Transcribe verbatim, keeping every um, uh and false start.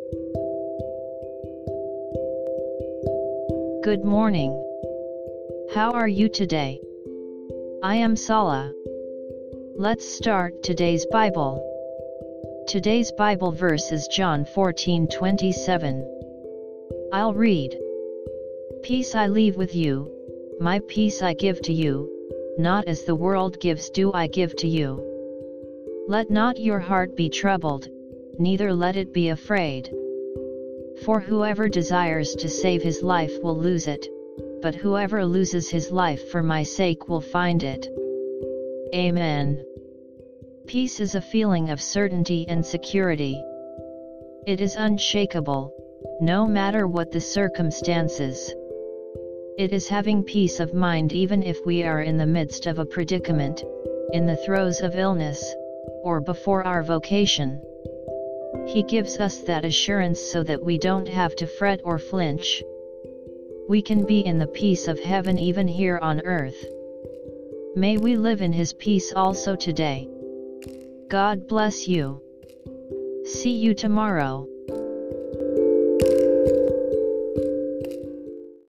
Good morning. How are you today? I am Sala. Let's start today's Bible. Today's Bible verse is John fourteen twenty-seven. I'll read. Peace I leave with you, my peace I give to you, not as the world gives do I give to you. Let not your heart be troubled, neither let it be afraid. For whoever desires to save his life will lose it, but whoever loses his life for my sake will find it. Amen. Peace is a feeling of certainty and security. It is unshakable, no matter what the circumstances. It is having peace of mind even if we are in the midst of a predicament, in the throes of illness, or before our vocation. He gives us that assurance so that we don't have to fret or flinch. We can be in the peace of heaven even here on earth. May we live in His peace also today. God bless you. See you tomorrow.